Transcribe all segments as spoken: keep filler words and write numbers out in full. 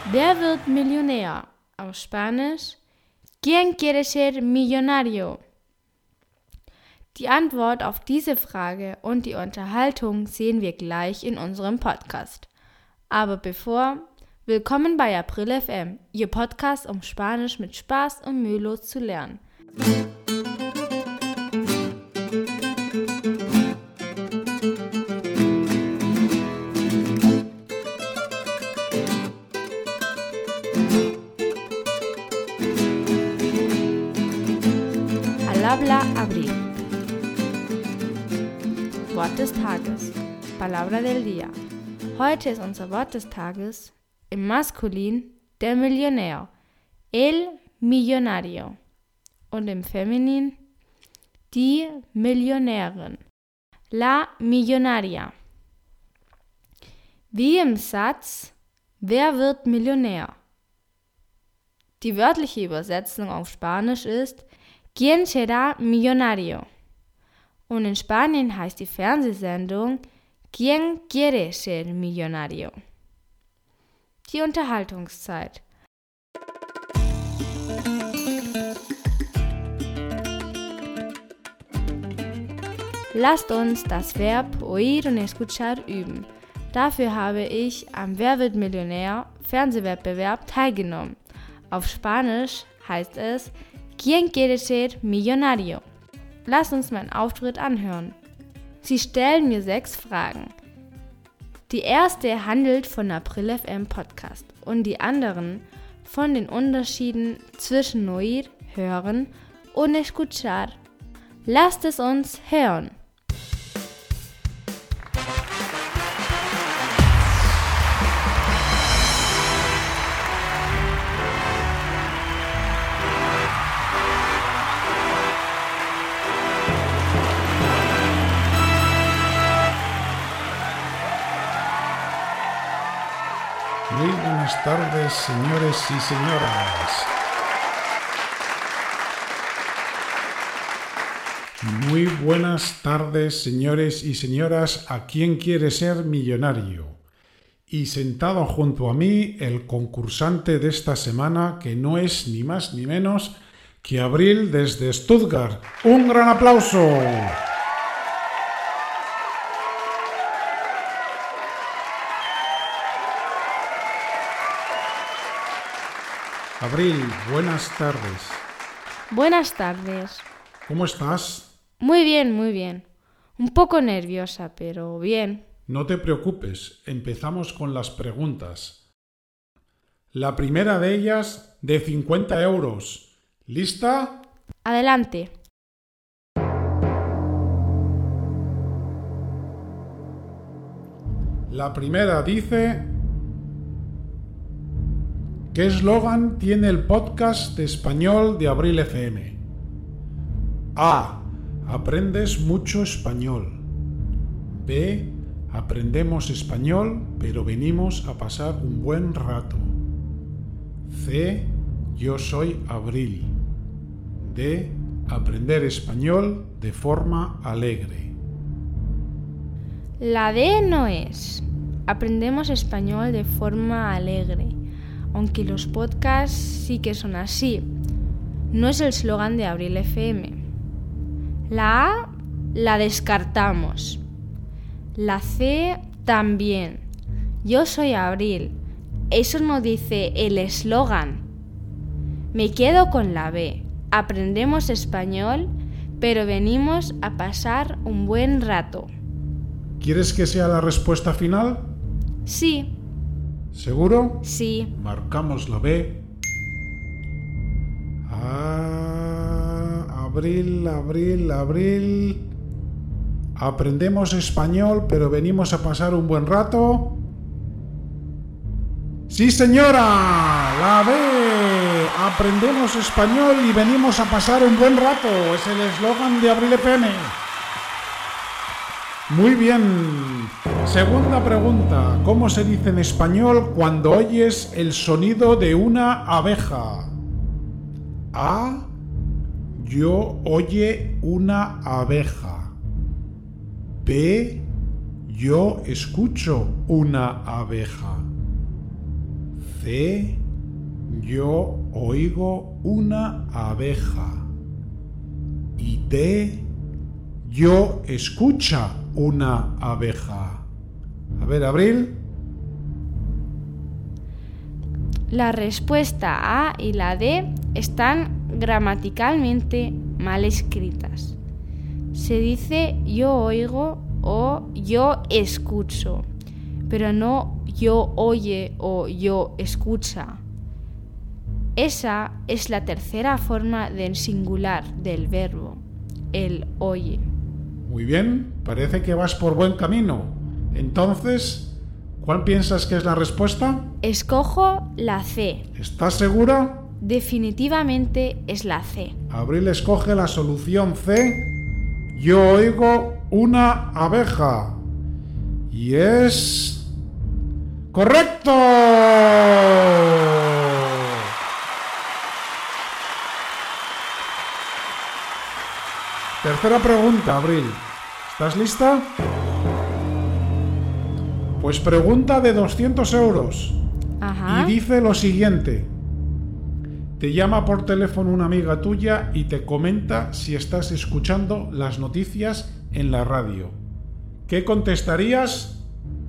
Wer wird Millionär? Auf Spanisch, ¿Quién quiere ser millonario? Die Antwort auf diese Frage und die Unterhaltung sehen wir gleich in unserem Podcast. Aber bevor, willkommen bei April F M, Ihr Podcast, um Spanisch mit Spaß und mühelos zu lernen. Habla Abril. Wort des Tages. Palabra del día. Heute ist unser Wort des Tages im Maskulin der Millionär, el millonario, und im Feminin die Millionärin, la millonaria. Wie im Satz, wer wird Millionär? Die wörtliche Übersetzung auf Spanisch ist ¿Quién será millonario? Und in Spanien heißt die Fernsehsendung ¿Quién quiere ser millonario? Die Unterhaltungszeit. Lasst uns das Verb oír und escuchar üben. Dafür habe ich am Wer wird Millionär Fernsehwettbewerb teilgenommen. Auf Spanisch heißt es ¿Quién quiere ser millonario? Lasst uns meinen Auftritt anhören. Sie stellen mir sechs Fragen. Die erste handelt von April F M Podcast und die anderen von den Unterschieden zwischen oír, hören und escuchar. Lasst es uns hören. Muy buenas tardes, señores y señoras. Muy buenas tardes, señores y señoras, a quien quiere ser millonario. Y sentado junto a mí, el concursante de esta semana, que no es ni más ni menos que Abril desde Stuttgart. ¡Un gran aplauso! Abril, buenas tardes. Buenas tardes. ¿Cómo estás? Muy bien, muy bien. Un poco nerviosa, pero bien. No te preocupes, empezamos con las preguntas. La primera de ellas, de cincuenta euros. ¿Lista? Adelante. La primera dice: ¿qué eslogan tiene el podcast de español de April F M? A. Aprendes mucho español. B. Aprendemos español, pero venimos a pasar un buen rato. C. Yo soy Abril. D. Aprender español de forma alegre. La D no es. Aprendemos español de forma alegre. Aunque los podcasts sí que son así. No es el eslogan de April F M. La A la descartamos. La C también. Yo soy Abril. Eso no dice el eslogan. Me quedo con la B. Aprendemos español, pero venimos a pasar un buen rato. ¿Quieres que sea la respuesta final? Sí. ¿Seguro? Sí. Marcamos la B. Ah, abril, abril, abril. ¿Aprendemos español, pero venimos a pasar un buen rato? ¡Sí, señora! La B. Aprendemos español y venimos a pasar un buen rato. Es el eslogan de April F M. Muy bien. Segunda pregunta. ¿Cómo se dice en español cuando oyes el sonido de una abeja? A. Yo oye una abeja. B. Yo escucho una abeja. C. Yo oigo una abeja. Y D. Yo escucha una abeja. A ver, Abril. La respuesta A y la D están gramaticalmente mal escritas. Se dice yo oigo o yo escucho, pero no yo oye o yo escucha. Esa es la tercera forma del singular del verbo, el oye. Muy bien, parece que vas por buen camino. Entonces, ¿cuál piensas que es la respuesta? Escojo la C. ¿Estás segura? Definitivamente es la C. Abril escoge la solución C. Yo oigo una abeja. Y es... ¡correcto! Tercera pregunta, Abril. ¿Estás lista? Pues pregunta de doscientos euros. Ajá. Y dice lo siguiente. Te llama por teléfono una amiga tuya y te comenta si estás escuchando las noticias en la radio. ¿Qué contestarías?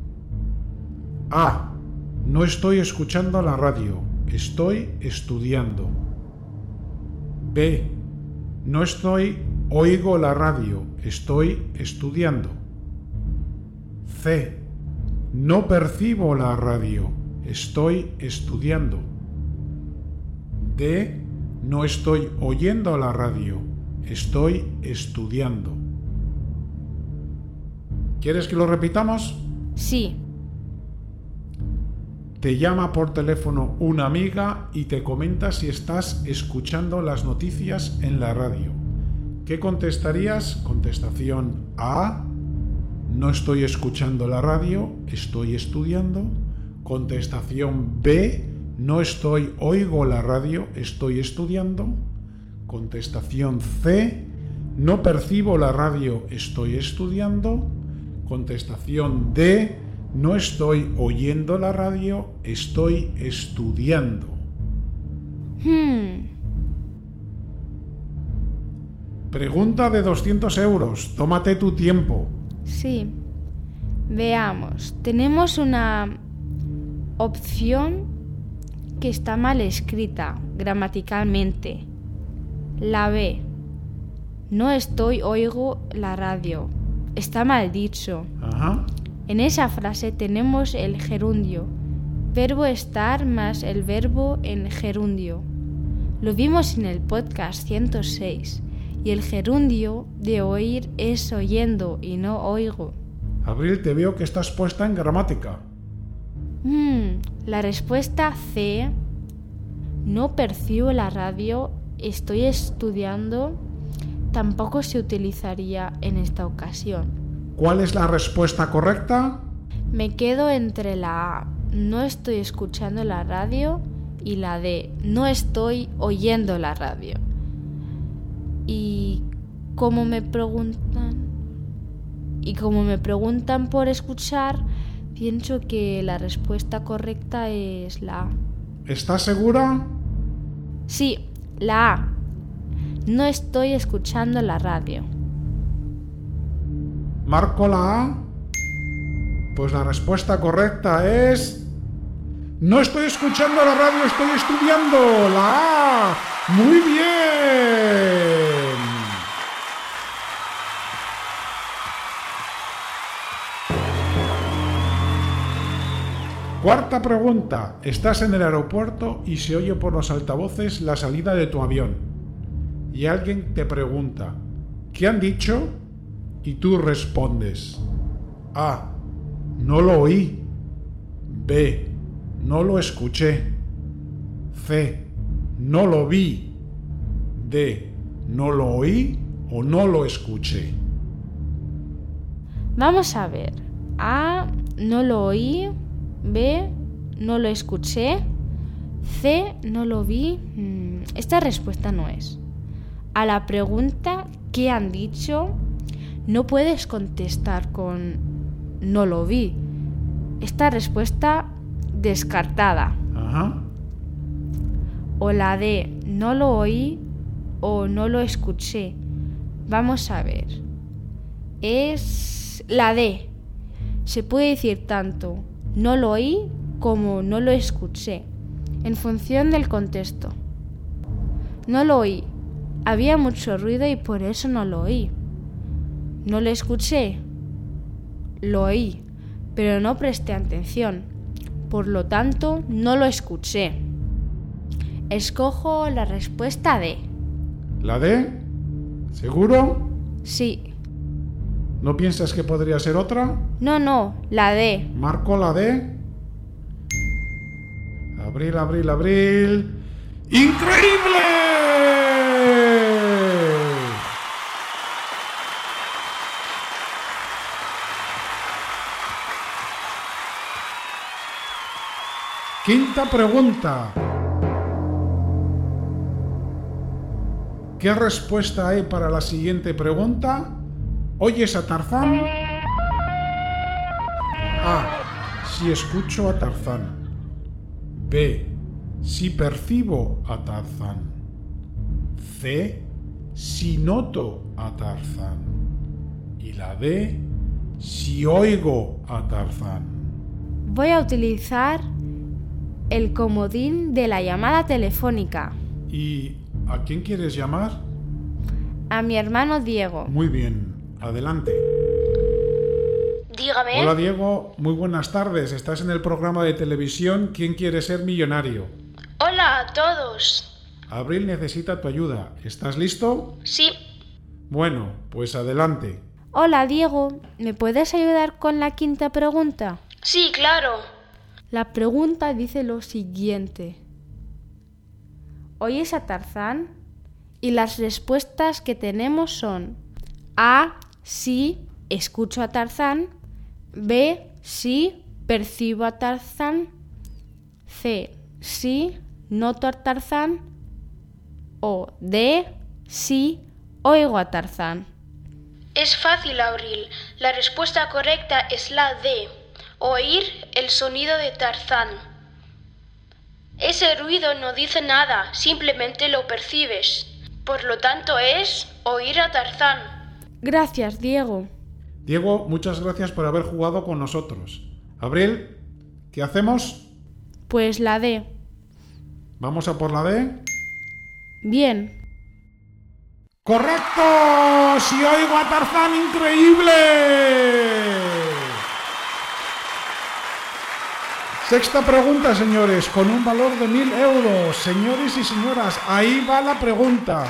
A. No estoy escuchando la radio. Estoy estudiando. B. No estoy... oigo la radio. Estoy estudiando. C. No percibo la radio. Estoy estudiando. D. No estoy oyendo la radio. Estoy estudiando. ¿Quieres que lo repitamos? Sí. Te llama por teléfono una amiga y te comenta si estás escuchando las noticias en la radio. ¿Qué contestarías? Contestación A. No estoy escuchando la radio, estoy estudiando. Contestación B. No estoy, oigo la radio, estoy estudiando. Contestación C. No percibo la radio, estoy estudiando. Contestación D. No estoy oyendo la radio, estoy estudiando. Hmm. Pregunta de doscientos euros. Tómate tu tiempo. Sí. Veamos. Tenemos una opción que está mal escrita gramaticalmente. La B. No estoy, oigo la radio. Está mal dicho. Ajá. En esa frase tenemos el gerundio. Verbo estar más el verbo en gerundio. Lo vimos en el podcast ciento seis. Y el gerundio de oír es oyendo y no oigo. Abril, te veo que estás puesta en gramática. Hmm, la respuesta C. No percibo la radio, estoy estudiando, tampoco se utilizaría en esta ocasión. ¿Cuál es la respuesta correcta? Me quedo entre la A. No estoy escuchando la radio y la D. No estoy oyendo la radio. Y como me preguntan y como me preguntan por escuchar, pienso que la respuesta correcta es la A. ¿Estás segura? Sí, la A. No estoy escuchando la radio. ¿Marco la A? Pues la respuesta correcta es... No estoy escuchando la radio, estoy estudiando. La A. Muy bien. Cuarta pregunta. Estás en el aeropuerto y se oye por los altavoces la salida de tu avión. Y alguien te pregunta, ¿qué han dicho? Y tú respondes, A. No lo oí. B. No lo escuché. C. No lo vi. D. No lo oí o no lo escuché. Vamos a ver. A. No lo oí. B. No lo escuché. C. No lo vi. Esta respuesta no es. A la pregunta ¿qué han dicho? No puedes contestar con no lo vi. Esta respuesta descartada. Ajá. O la D, no lo oí o no lo escuché. Vamos a ver. Es la D. Se puede decir tanto no lo oí como no lo escuché, en función del contexto. No lo oí. Había mucho ruido y por eso no lo oí. No lo escuché. Lo oí, pero no presté atención. Por lo tanto, no lo escuché. Escojo la respuesta D. ¿La D? ¿Seguro? Sí. ¿No piensas que podría ser otra? No, no, la D. Marco la D. Abril, abril, abril. ¡Increíble! Quinta pregunta. ¿Qué respuesta hay para la siguiente pregunta? ¿Oyes a Tarzán? A. Si escucho a Tarzán. B. Si percibo a Tarzán. C. Si noto a Tarzán. Y la D. Si oigo a Tarzán. Voy a utilizar el comodín de la llamada telefónica. ¿Y a quién quieres llamar? A mi hermano Diego. Muy bien, adelante. Dígame. Hola Diego, muy buenas tardes. Estás en el programa de televisión ¿Quién quiere ser millonario? Hola a todos. Abril necesita tu ayuda. ¿Estás listo? Sí. Bueno, pues adelante. Hola Diego, ¿me puedes ayudar con la quinta pregunta? Sí, claro. La pregunta dice lo siguiente. ¿Oyes a Tarzán? Y las respuestas que tenemos son A. Sí, escucho a Tarzán. B. Sí, percibo a Tarzán. C. Sí, noto a Tarzán. O D. Sí, oigo a Tarzán. Es fácil, Abril. La respuesta correcta es la D. Oír el sonido de Tarzán. Ese ruido no dice nada, simplemente lo percibes. Por lo tanto es oír a Tarzán. Gracias, Diego. Diego, muchas gracias por haber jugado con nosotros. Abril, ¿qué hacemos? Pues la D. ¿Vamos a por la D? Bien. ¡Correcto! ¡Si oigo a Tarzán, increíble! Sexta pregunta, señores, con un valor de mil euros. Señores y señoras, ahí va la pregunta.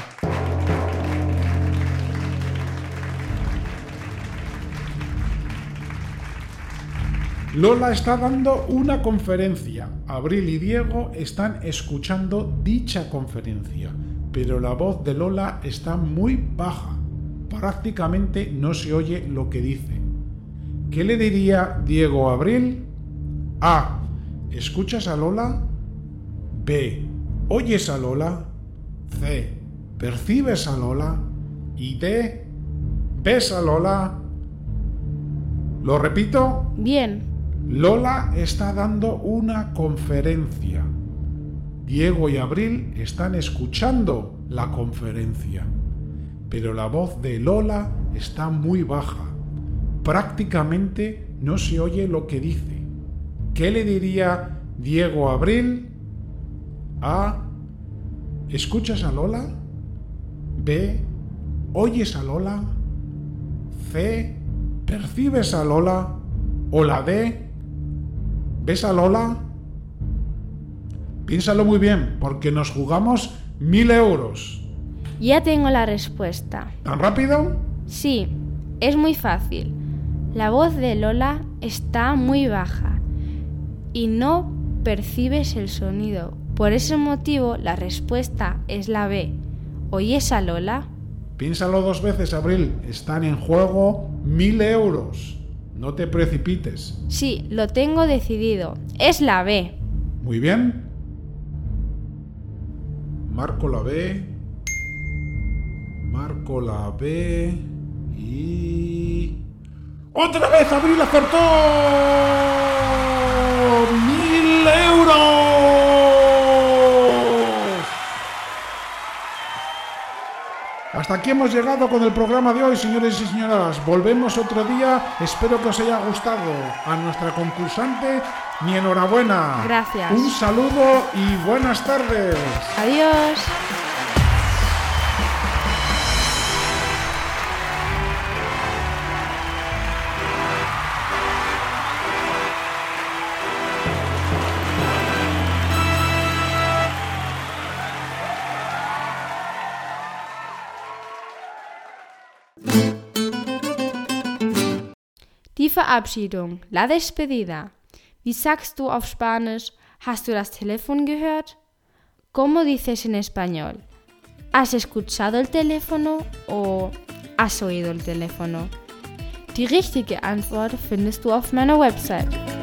Lola está dando una conferencia. Abril y Diego están escuchando dicha conferencia, pero la voz de Lola está muy baja. Prácticamente no se oye lo que dice. ¿Qué le diría Diego a Abril? A. ¿Escuchas a Lola? B. ¿Oyes a Lola? C. ¿Percibes a Lola? Y D. ¿Ves a Lola? ¿Lo repito? Bien. Lola está dando una conferencia. Diego y Abril están escuchando la conferencia, pero la voz de Lola está muy baja. Prácticamente no se oye lo que dice. ¿Qué le diría Diego a Abril? A. ¿Escuchas a Lola? B. ¿Oyes a Lola? C. ¿Percibes a Lola? O la D. ¿Ves a Lola? Piénsalo muy bien, porque nos jugamos mil euros. Ya tengo la respuesta. ¿Tan rápido? Sí, es muy fácil. La voz de Lola está muy baja y no percibes el sonido. Por ese motivo, la respuesta es la B. ¿Oyes a Lola? Piénsalo dos veces, Abril. Están en juego mil euros. No te precipites. Sí, lo tengo decidido. Es la B. Muy bien. Marco la B. Marco la B. Y... ¡otra vez Abril acertó! ¡Mil euros! Hasta aquí hemos llegado con el programa de hoy, señores y señoras. Volvemos otro día. Espero que os haya gustado. A nuestra concursante, mi enhorabuena. Gracias. Un saludo y buenas tardes. Adiós. Die Verabschiedung, la despedida. Wie sagst du auf Spanisch? ¿Has du das Telefon gehört? ¿Cómo dices en español? ¿Has escuchado el teléfono o has oído el teléfono? Die richtige Antwort findest du auf meiner Website.